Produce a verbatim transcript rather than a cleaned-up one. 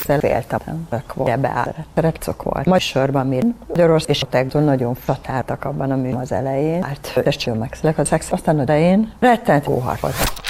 Ezzel féltem, hogy beállt. Repcok volt. Majd sorban mi Magyarország és a tegdől nagyon flatáltak abban a mű az elején. Hát, testső megszülek a szex, aztán a elején rettent hóhar voltak.